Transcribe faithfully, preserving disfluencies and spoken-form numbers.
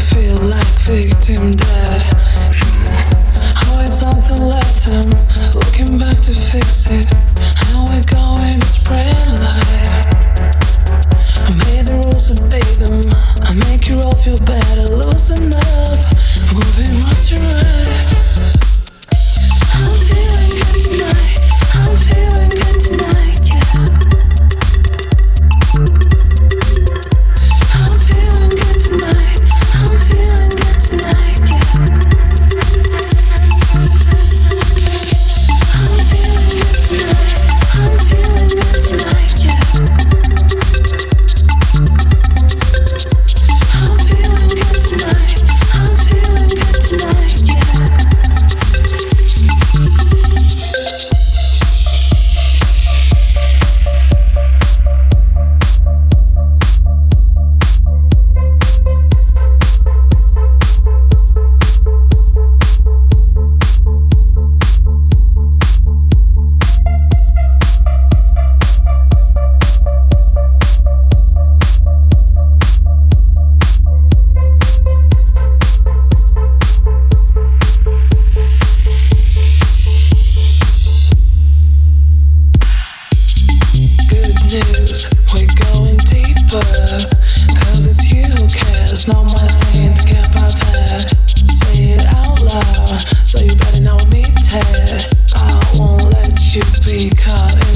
feel like victim dead. Always something left him, looking back to fix it. How we going to spread light? I made the rules, obey them. I make you all feel better, loosen up, moving much to right. I'm feeling good tonight. I'm feeling good tonight, yeah. I'm feeling good tonight. I'm feeling good tonight, yeah. I'm feeling good tonight. I'm feeling good tonight, yeah. I'm feeling good tonight. I'm feeling good tonight, yeah. News, we're going deeper, cause it's you who cares, not my thing to get by that. Say it out loud, so you better know me, Ted. I won't let you be caught in